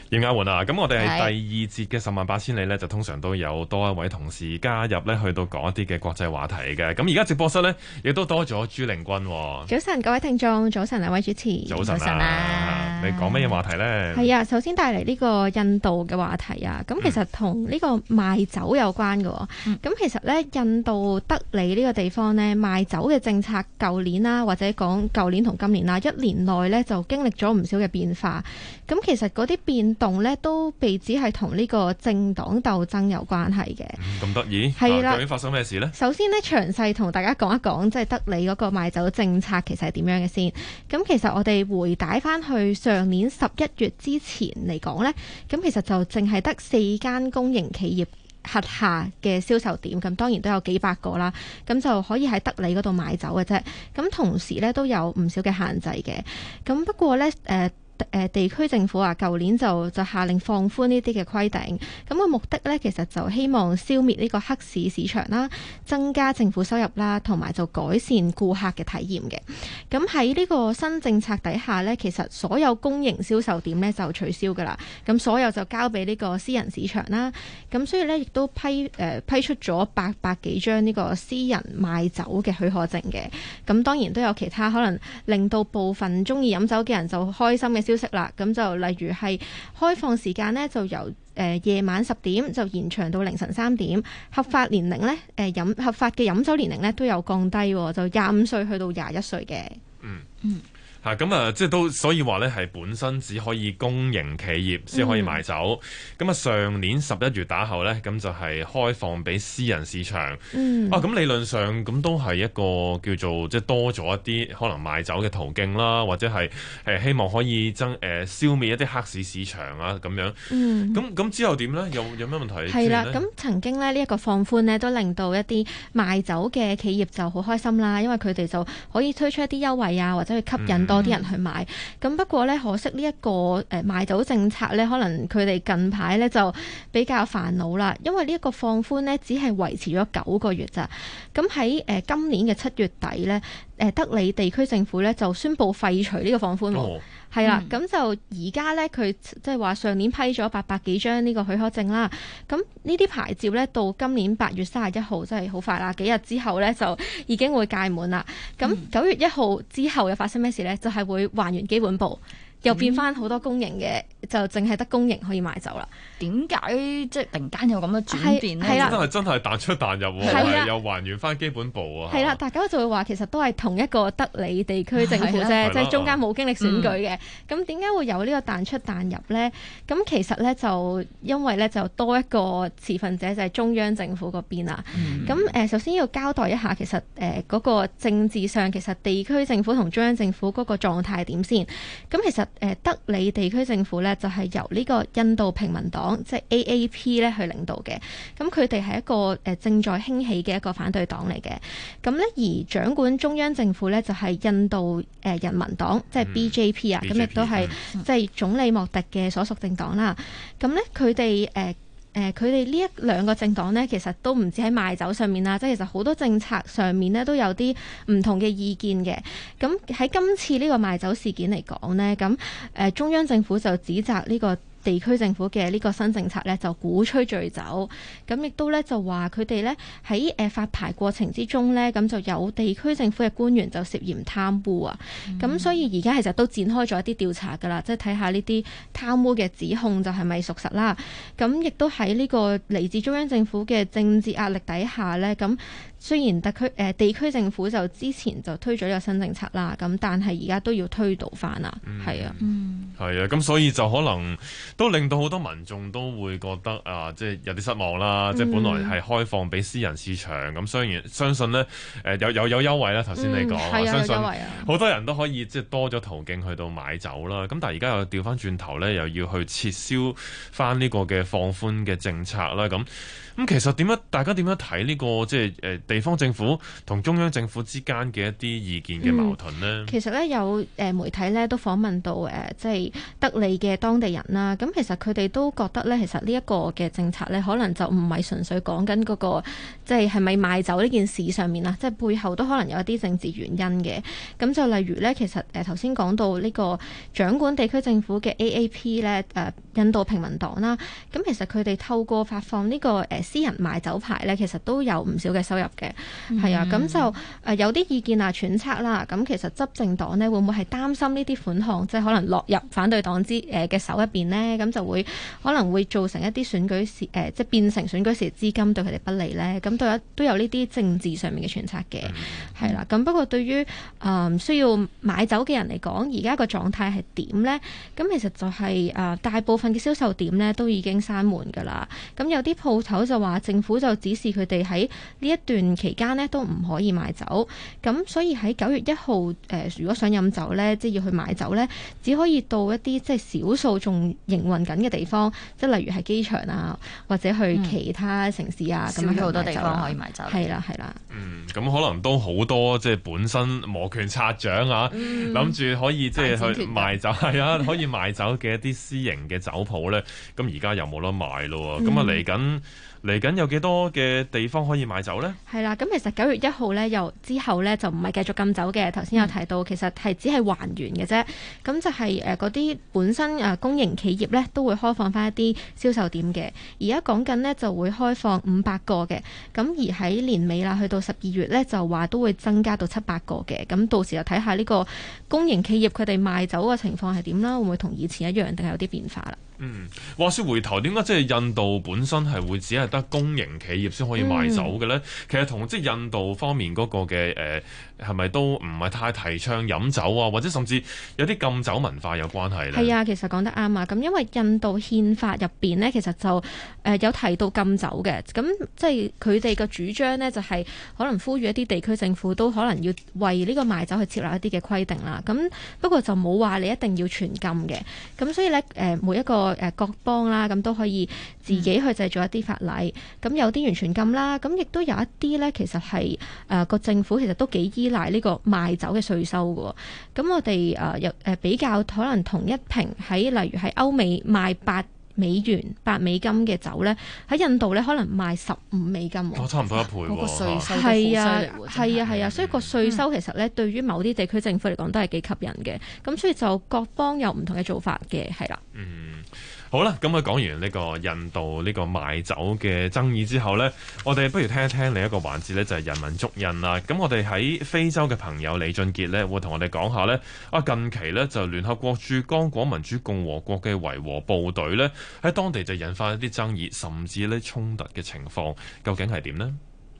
葉雅媛啊，咁我哋係第二節嘅十萬八千里呢，就通常都有多一位同事加入呢，去到講一啲嘅國際話題嘅。咁而家直播室呢，亦都多咗朱令筠。 早晨，各位聽眾，早晨兩位主持， 早晨啊！你講乜嘢話題呢？ 係啊，首先帶嚟呢個印度嘅話題啊。咁其實同呢個賣酒有關嘅。咁其實呢，印度德里呢個地方呢，賣酒嘅政策，舊年啦，或者講舊年同今年啦，一年內呢，就經歷咗唔少嘅變化。咁其實嗰啲變動咧都被指係同呢個政黨鬥爭有關係嘅。 咁得意？ 係啦， 究竟發生咩事呢？ 首先咧，詳細同大家講一講，即係德里嗰個賣酒政策其實係點樣嘅先。咁其實我哋回帶翻去上年11月之前嚟講咧，咁其實就淨係得4間公營企業轄下嘅銷售點，咁當然都有幾百個啦，咁就可以喺德里嗰度賣酒嘅啫。咁同時咧都有唔少嘅限制嘅。咁不過咧，地區政府啊，舊年就下令放寬呢啲嘅規定，咁個目的呢，其實就希望消滅呢個黑市市場啦，增加政府收入啦，同埋就改善顧客嘅體驗嘅。咁喺呢個新政策底下呢，其實所有公營銷售點呢就取消㗎啦，咁所有就交俾呢個私人市場啦。咁所以呢，亦都批出咗800幾張呢個私人賣酒嘅許可證嘅。咁當然都有其他可能令到部分鍾意飲酒嘅人就開心嘅消息啦，咁就例如係開放時間呢，就由夜晚10點就延長到凌晨3點，合法年齡呢，合法嘅飲酒年齡呢都有降低，就25歲去到21歲嘅。 咁啊，即係都所以話咧，係本身只可以公營企業先可以賣酒。咁上年11月打後咧，咁就係開放俾私人市場。咁理論上咁都係一個叫做即係多咗一啲可能賣酒嘅途徑啦，或者係希望可以消滅一啲黑市市場啊咁樣。咁之後點咧？有咩問題？ 係啦，咁曾經咧呢一個放寬咧，都令到一啲賣酒嘅企業就好開心啦，因為佢哋就可以推出一啲優惠啊，或者去吸引多啲人去買。咁不過咧，可惜呢一個賣酒政策咧，可能佢哋近排咧就比較煩惱啦，因為呢一個放寬咧只係維持咗9個月咋。咁喺今年嘅7月底咧，德里地區政府咧就宣布廢除呢個放寬。係啦，咁就而家咧，佢即係話上年批咗800幾張呢個許可證啦。咁呢啲牌照咧，到今年8月31號，真係好快啦，幾日之後咧就已經會屆滿啦。咁9月1號之後又發生咩事咧？就係會還原基本步，又變翻好多公營嘅，就淨係得公營可以賣酒啦。 點解即係突然間有咁嘅轉變咧？ 真係彈出彈入喎，又還原翻基本步啊！ 係啦，大家就會話其實都係同一個德里地區政府啫，即係中間冇經歷選舉嘅。咁點解會有呢個彈出彈入咧？咁其實咧就因為咧就多一個持份者就係中央政府嗰邊啦。咁首先要交代一下，其實嗰個政治上其實地區政府同中央政府嗰個狀態係點先？咁其實德里地區政府咧就係由呢個印度平民黨即係 AAP 咧去領導嘅，咁佢哋係一個正在興起嘅一個反對黨嚟嘅。咁咧而掌管中央政府咧就係印度人民黨即係 BJP 啊，咁亦都係即係總理莫迪嘅所屬政黨啦。咁咧佢哋佢哋呢一兩個政黨呢，其實都唔止喺賣酒上面啦，即係其實好多政策上面呢都有啲唔同嘅意見嘅。咁喺今次呢個賣酒事件嚟講呢，咁中央政府就指責呢個地區政府嘅呢個新政策呢，就鼓吹醉酒，咁亦都呢，就話佢哋呢喺發牌過程之中呢，咁就有地區政府嘅官員就涉嫌貪污啊，咁所以而家其實都展開咗一啲調查㗎啦，即係睇下呢啲貪污嘅指控就係咪屬實啦。咁亦都喺呢個嚟自中央政府嘅政治壓力底下呢，咁雖然地區政府就之前就推咗呢個新政策啦，咁但係而家都要推倒翻啦，係啊， 係啊，咁所以就可能都令到好多民眾都會覺得啊，即係有啲失望啦。即係本來係開放俾私人市場，咁相信呢有優惠啦。頭先你講，相信好多人都可以即係多咗途徑去到買酒啦。咁但係而家又調翻轉頭呢，又要去撤銷翻呢個嘅放寬嘅政策啦。咁其實大家點樣睇呢個即係地方政府同中央政府之間嘅一啲意見嘅矛盾呢？ 其實咧有媒體咧都訪問到即係德里嘅當地人啦。咁其實佢哋都覺得咧，其實呢一個嘅政策咧，可能就唔係純粹講緊嗰個即係咪賣酒呢件事上面啦，即係背後都可能有一啲政治原因嘅。咁就例如咧，其實頭先講到呢個掌管地區政府嘅 AAP 咧，印度平民黨啦，咁其實佢哋透過發放呢個私人賣酒牌咧，其實都有唔少嘅收入嘅，係啊，咁就有啲意見揣測啦。咁其實執政黨呢，會唔會係擔心呢啲款項即係可能落入反對黨嘅手入邊呢？咁就會可能會造成一啲選舉時即係變成選舉時資金對佢哋不利呢？咁都有呢啲政治上面嘅揣測嘅，係啦。咁不過對於需要買酒嘅人嚟講，而家個狀態係點呢？咁其實就係大部分嘅銷售點呢都已經閂門㗎啦。咁有啲鋪頭就話政府就指示佢哋喺呢一段期間呢都唔可以賣酒。咁所以喺9月1號如果想飲酒呢，即係要去買酒呢，只可以到一啲即係少數仲營運緊嘅地方，即係例如係機場啊，或者去其他城市啊，咁樣好多地方可以買酒。 係啦，係啦。 咁可能都好多即係本身摩拳擦掌啊，諗住可以即係去賣酒，係啊，可以賣酒嘅一啲私營嘅酒鋪咧，咁而家又冇得賣咯。咁啊嚟緊有幾多嘅地方可以買酒呢？係啦， 咁其實9月1號咧，又之後咧就唔係繼續禁酒嘅。頭先有提到，其實係只係還原嘅啫。咁就係嗰啲本身公營企業咧，都會開放翻一啲銷售點嘅。而家講緊呢，就會開放500個嘅。咁而喺年尾啦，去到12月咧，就話都會增加到700個嘅。咁到時就睇下呢個公營企業佢哋賣酒嘅情況係點啦，會唔會同以前一樣，定係有啲變化啦？ 話說回頭，點解即係印度本身係會只係得公營企業先可以賣酒嘅呢？其實同即係印度方面嗰個嘅係咪都唔係太提倡飲酒啊，或者甚至有啲禁酒文化有關係呢？ 係啊，其實講得啱啊！咁因為印度憲法入邊呢，其實就有提到禁酒嘅。咁即係佢哋嘅主張呢，就係可能呼籲一啲地區政府都可能要為呢個賣酒去設立一啲嘅規定啦。咁不過就冇話你一定要全禁嘅。咁所以呢，每一個各邦啦，咁都可以自己去製造一啲法例。咁有啲完全禁啦，咁亦都有一啲呢，其實係個政府其實都幾依賴呢個賣酒嘅稅收嘅。咁我哋比較可能同一瓶喺例如喺歐美賣8美金嘅酒呢，喺印度呢可能賣15美金。 差唔多一倍喎。 嗰個稅收係啊，所以個稅收其實呢，對於某啲地區政府嚟講都係幾吸引嘅。咁所以就各邦有唔同嘅做法嘅，係啦。 好啦，咁講完呢個印度呢個賣酒嘅爭議之後呢，我哋不如聽一聽另一個環節呢，就係人文足印啦。咁我哋喺非洲嘅朋友李俊傑呢，會同我哋講下呢，近期呢，就聯合國駐剛果民主共和國嘅維和部隊呢，喺當地就引發一啲爭議，甚至呢衝突嘅情況，究竟係點呢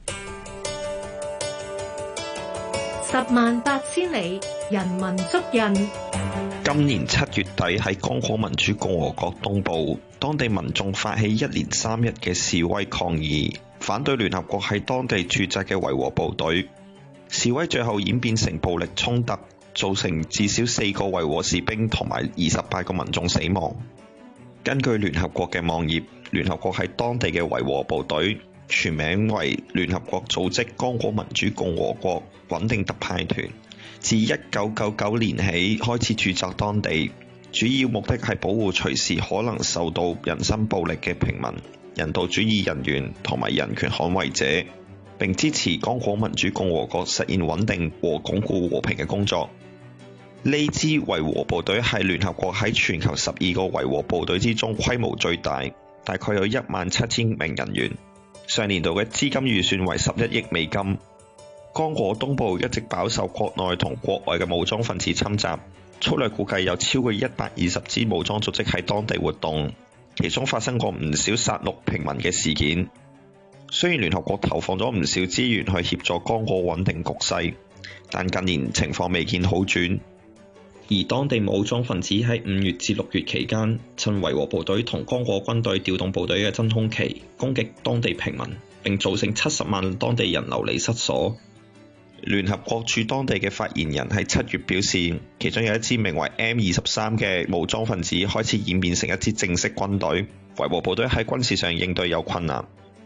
？108000里，人文足印。 今年7月底喺剛果民主共和國東部，當地民眾發起1連3日嘅示威抗議，反對聯合國喺當地駐紮嘅維和部隊。示威最後演變成暴力衝突，造成至少4個維和士兵同埋28個民眾死亡。根據聯合國嘅網頁，聯合國喺當地嘅維和部隊全名為聯合國組織剛果民主共和國穩定特派團，自1999年起開始駐紮當地，主要目的係保護隨時可能受到人身暴力嘅平民、人道主義人員同埋人權捍衛者，並支持剛果民主共和國實現穩定和鞏固和平嘅工作。呢支維和部隊係聯合國喺全球12個維和部隊之中規模最大，大概有17000名人員。上年度嘅資金預算為11億美金。剛果東部一直飽受國內同國外嘅武裝分子侵襲，粗略估計有超過120支武裝組織喺當地活動，其中發生過唔少殺戮平民嘅事件。雖然聯合國投放咗唔少資源去協助剛果穩定局勢，但近年情況未見好轉。而當地武裝分子喺5月至6月期間，趁維和部隊同剛果軍隊調動部隊嘅真空期，攻擊當地平民，並造成70萬當地人流離失所。聯合國駐當地嘅發言人喺7月表示，其中有一支名為 M23 嘅武裝分子開始演變成一支正式軍隊，維和部隊喺軍事上應對有困難。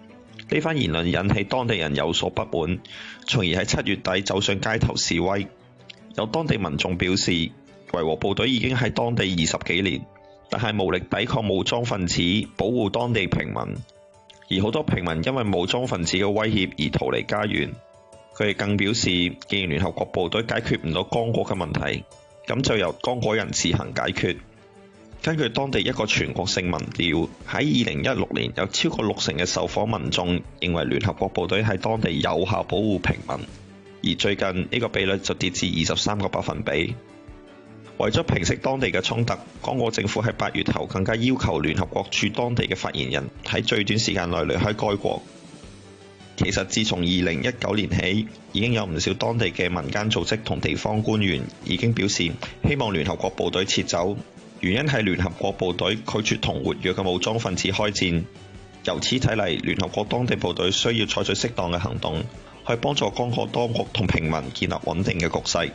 呢番言論引起當地人有所不滿，從而喺7月底走上街頭示威。有當地民眾表示，維和部隊已經喺當地20幾年，但係無力抵抗武裝分子保護當地平民，而好多平民因為武裝分子嘅威脅而逃離家園。佢哋更表示，既然聯合國部隊解決唔到剛果嘅問題，咁就由剛果人自行解決。根據當地一個全國性民調，喺2016年有超過60%嘅受訪民眾認為聯合國部隊喺當地有效保護平民，而最近呢個比率就跌至23%。為咗平息當地嘅衝突，剛果政府喺8月頭更加要求聯合國駐當地嘅發言人喺最短時間內離開該國。其實自從2019年起，已經有唔少當地嘅民間組織同地方官員已經表示希望聯合國部隊撤走，原因係聯合國部隊拒絕同活躍嘅武裝分子開戰。由此睇嚟，聯合國當地部隊需要採取適當嘅行動，去幫助剛果當局同平民建立穩定嘅局勢。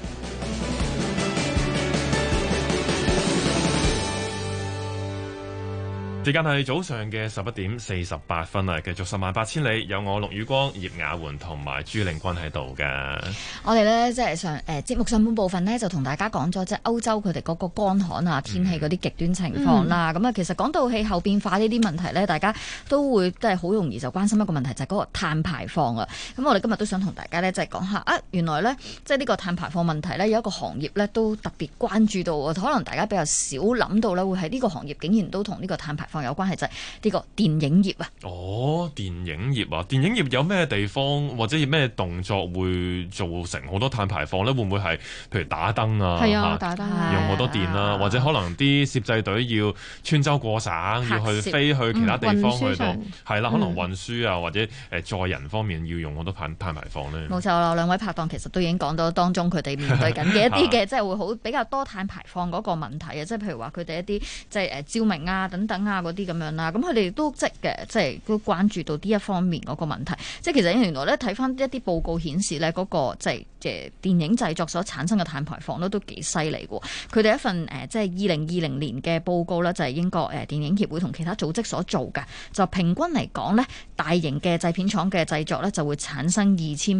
時間係早上嘅11:48啊！繼續十萬八千里，有我陸宇光、葉雅媛同埋朱令君喺度嘅。 我哋咧即係節目上半部分呢，就同大家講咗即係歐洲佢哋嗰個乾旱啊、天氣嗰啲極端情況啦。咁啊，其實講到氣候變化呢啲問題咧，大家都會即係好容易就關心一個問題，就係嗰個碳排放啊。咁我哋今日都想同大家咧即係講下啊，原來咧即係呢個碳排放問題咧有一個行業咧都特別關注到啊，可能大家比較少諗到咧會喺呢個行業竟然都同呢個碳排放有關係，就係呢個電影業啊。 哦，電影業啊，電影業有咩地方或者咩動作會造成好多碳排放咧？會唔會係譬如打燈啊？ 係啊，打燈用好多電啦，或者可能啲攝製隊要穿州過省，要去飛去其他地方去到，係啦，可能運輸啊或者載人方面要用好多碳排放咧。 冇錯啦，兩位拍檔其實都已經講到當中佢哋面對緊嘅一啲嘅即係會好比較多碳排放嗰個問題啊，即係譬如話佢哋一啲即係照明啊等等啊嗰啲咁樣啦，咁佢哋都即係都關注到呢一方面嗰個問題。即係其實原來咧睇翻一啲報告顯示咧，嗰個即係電影製作所產生嘅碳排放都幾犀利嘅。佢哋一份即係2020年嘅報告咧，就係英國電影協會同其他組織所做嘅，就平均嚟講咧，大型嘅製片廠嘅製作咧就會產生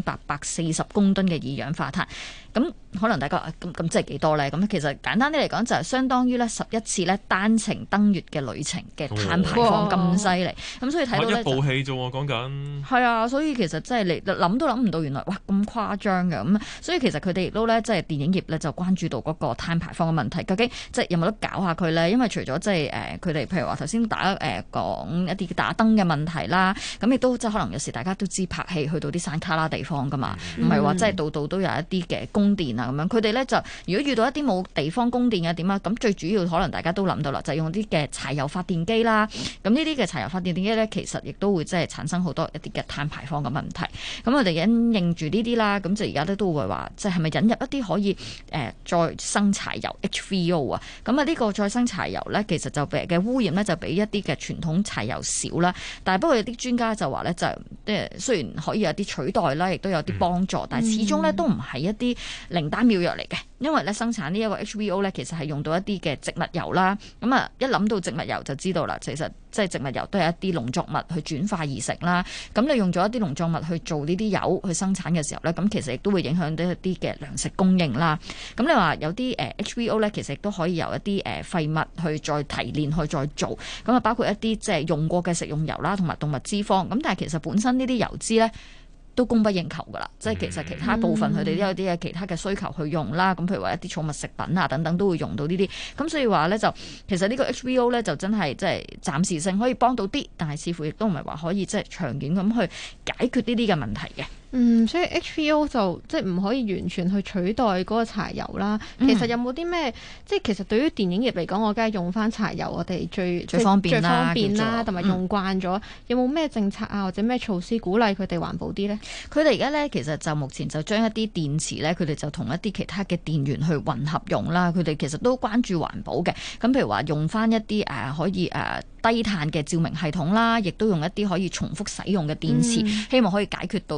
2840公噸嘅二氧化碳。咁可能大家咁即係幾多咧？咁其實簡單啲嚟講，就係相當於咧11次咧單程登月嘅旅程嘅碳排放咁犀利。咁所以睇到咧， 一部戲啫喎，講緊係啊，所以其實真係你諗都諗唔到，原來哇咁誇張嘅咁。所以其實佢哋亦都咧，即係電影業咧就關注到嗰個碳排放嘅問題，究竟即係有冇得搞下佢咧？因為除咗即係佢哋譬如話頭先講一啲打燈嘅問題啦，咁亦都即係可能有時大家都知拍戲去到啲山卡拉地方噶嘛，唔係話即係度度都有一啲嘅供電啊咁樣。佢哋咧就如果遇到一啲冇地方供電嘅點啊，咁最主要可能大家都諗到啦，就係用啲嘅柴油發電機啦。咁呢啲嘅柴油發電機咧，其實亦都會即係產生好多一啲嘅碳排放嘅問題。咁我哋因應住呢啲啦，咁就而家都會話，即係咪引入一啲可以再生柴油 HVO 啊？咁啊呢個再生柴油咧，其實就嘅污染咧就比一啲嘅傳統柴油少啦。但係不過有啲專家就話咧，就雖然可以有啲取代啦，亦都有啲幫助，但係始終咧都唔係一啲靈丹妙藥嚟嘅。因為咧生產呢一個 HVO 咧，其實係用到一啲嘅植物油啦。咁啊一諗到植物油就知道啦，其實即係植物油都係一啲農作物去轉化而成啦。咁你用咗一啲農作物去做呢啲油去生產嘅時候咧，咁其實亦都會影響到一啲嘅糧食供應啦。咁你話有啲HVO 咧，其實亦都可以由一啲廢物去再提煉去再做。咁啊包括一啲即係用過嘅食用油啦，同埋動物脂肪。咁但係其實本身呢啲油脂咧，都供不應求㗎啦，即係其實其他部分佢哋都有啲嘅其他嘅需求去用啦。咁譬如話一啲寵物食品啊等等都會用到呢啲。咁所以話咧就其實呢個 HVO 咧就真係即係暫時性可以幫到啲，但係似乎亦都唔係話可以即係長遠咁去解決呢啲嘅問題嘅。 所以 HVO 就即係唔可以完全去取代嗰個柴油啦。其實有冇啲咩即係其實對於電影業嚟講，我梗係用翻柴油，我哋最方便啦， 同埋用慣咗。有冇咩政策啊或者咩措施鼓勵佢哋環保啲咧？ 佢哋而家咧其實就目前就將一啲電池咧，佢哋就同一啲其他嘅電源去混合用啦。佢哋其實都關注環保嘅。咁譬如話用翻一啲可以低碳嘅照明系統啦，亦都用一啲可以重複使用嘅電池，希望可以解決到即係嗰個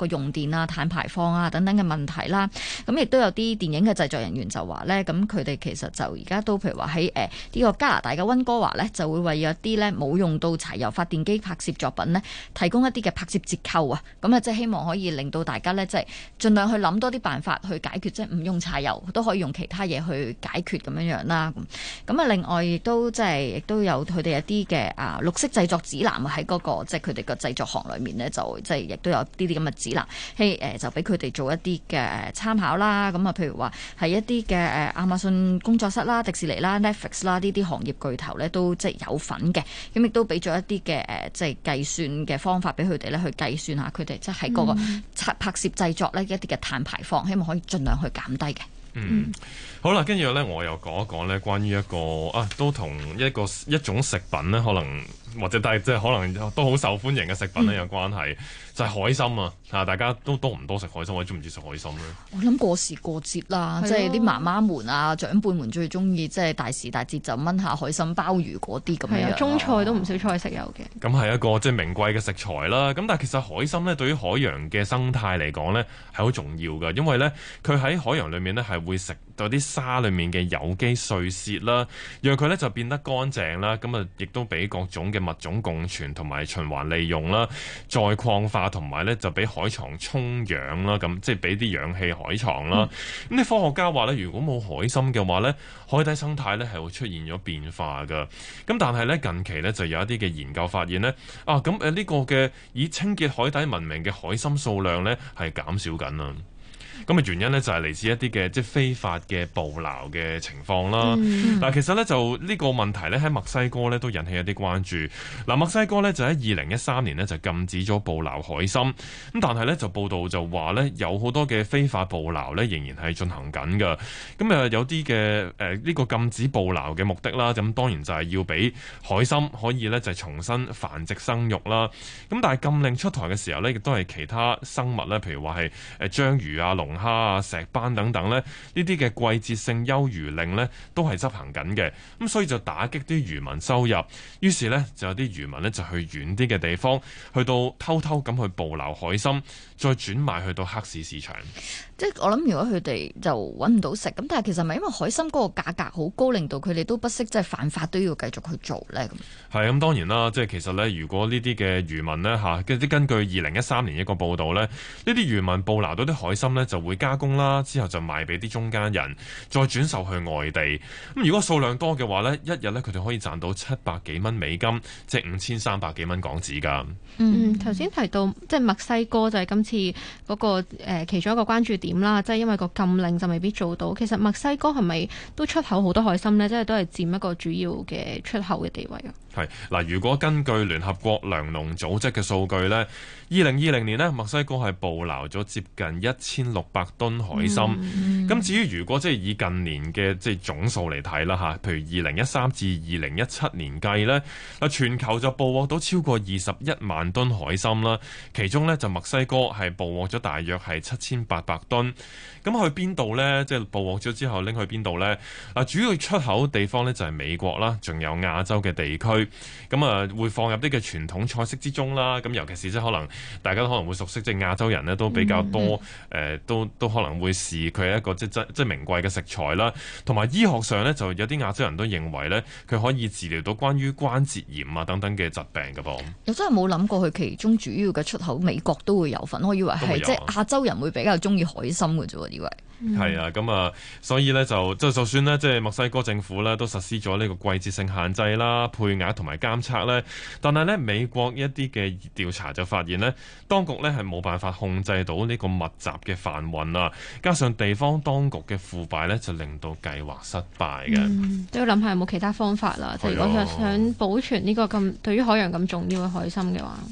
用電啊、碳排放啊等等嘅問題啦。咁亦都有啲電影嘅製作人員就話咧，咁佢哋其實就而家都譬如話喺呢個加拿大嘅溫哥華咧，就會為有啲咧冇用到柴油發電機拍攝作品咧，提供一啲嘅拍攝折扣啊。咁啊，即係希望可以令到大家咧，即係盡量去諗多啲辦法去解決，即係唔用柴油都可以用其他嘢去解決咁樣樣啦。咁啊，另外亦都有佢哋一啲嘅綠色製作指南喺嗰個即係佢哋個製作行裏面咧，就即係亦都有啲咁嘅指南，就俾佢哋做一啲嘅參考啦。咁啊，譬如話係一啲嘅亞馬遜工作室啦、迪士尼啦、Netflix 啦呢啲行業巨頭咧，都即係有份嘅。咁亦都俾咗一啲嘅即係計算嘅方法俾佢哋咧，去計算下佢哋即係喺嗰個拍攝製作呢一啲嘅碳排放，希望可以盡量去減低嘅。 好啦，跟住咧，我又講一講咧，關於一個都同一種食品咧，可能或者但係即係可能都好受歡迎嘅食品咧有關係，就係海參啊！大家都多唔多食海參，或者中唔中意食海參咧？ 我諗過時過節啦，即係啲媽媽們啊、長輩們最中意，即係大時大節就炆下海參、鮑魚嗰啲咁樣。 係啊，中菜都唔少菜式有嘅。 咁係一個即係名貴嘅食材啦。咁但係其實海參咧，對於海洋嘅生態嚟講咧，係好重要嘅，因為咧佢喺海洋裏面咧係會食到啲沙裏面嘅有機碎屑啦，讓佢咧就變得乾淨啦。咁啊，亦都俾各種嘅物種共存同埋循環利用啦，再礦化同埋咧就俾海床充氧啦，咁即係俾啲氧氣海床啦。咁啲科學家話咧，如果冇海參嘅話咧，海底生態咧係會出現咗變化㗎。咁但係咧近期咧就有一啲嘅研究發現咧，呢個嘅以清潔海底聞名嘅海參數量咧係減少緊啊。咁嘅原因咧就係嚟自一啲嘅即係非法嘅捕撈嘅情況啦。但係其實咧就呢個問題咧喺墨西哥咧都引起一啲關注。嗱，墨西哥咧就喺2013年咧就禁止咗捕撈海參，咁但係咧就報道就話咧有好多嘅非法捕撈咧仍然係進行緊㗎。咁有啲嘅呢個禁止捕撈嘅目的啦，咁當然就係要俾海參可以咧就重新繁殖生育啦。咁但係禁令出台嘅時候咧，亦都係其他生物咧，譬如話係章魚啊、龍蝦啊、石斑等等咧，呢啲嘅季節性休漁令咧都係執行緊嘅，咁所以就打擊啲漁民收入，於是咧就有啲漁民咧就去遠啲嘅地方，去到偷偷咁去捕撈海參，再轉賣去到黑市市場。 即係我諗，如果佢哋就揾唔到食，咁但係其實咪因為海參嗰個價格好高，令到佢哋都不惜即係犯法都要繼續去做咧咁。 係咁，當然啦，即係其實咧，如果呢啲嘅漁民咧根據2013年一個報道咧，呢啲漁民捕撈到啲海參咧就會加工啦，之後就賣俾啲中間人，再轉售去外地。咁如果數量多嘅話咧，一日咧佢哋可以賺到700幾蚊美金，即係5300幾蚊港紙㗎。 頭先提到即係墨西哥就係今次嗰個其中一個關注點啦，即係因為個禁令就未必做到。其實墨西哥係咪都出口好多海參呢？即係都係佔一個主要嘅出口嘅地位啊？ 係嗱，如果根據聯合國糧農組織嘅數據呢，2020年呢，墨西哥係捕撈咗接近1600噸海參。咁至於如果即係以近年嘅即係總數嚟睇啦嚇，譬如2013至2017年計呢，全球就捕獲到超過21萬噸海參啦。其中呢，就墨西哥係捕獲咗大約係7800噸。咁去邊度呢？即係捕獲咗之後拎去邊度呢？主要出口地方呢，就係美國啦，仲有亞洲嘅地區。咁會放入啲嘅傳統菜式之中啦。咁尤其是即係可能大家都可能會熟悉，即係亞洲人呢都比較多都可能會視佢係一個即係名貴嘅食材啦。同埋醫學上呢，就有啲亞洲人都認為呢，佢可以治療到關於關節炎啊等等嘅疾病㗎噃。 又真係冇諗過佢其中主要嘅出口美國都會有份，我以為係即係亞洲人會比較中意海參嘅啫喎，以為。 係啊，咁所以咧就算咧，即係墨西哥政府咧都實施咗呢個季節性限制啦、配額同埋監測咧，但係咧美國一啲嘅調查就發現咧，當局咧係冇辦法控制到呢個密集嘅販運啊，加上地方當局嘅腐敗咧，就令到計劃失敗嘅。 都要諗下有冇其他方法啦。即係如果想保存呢個咁對於海洋咁重要嘅海參嘅話。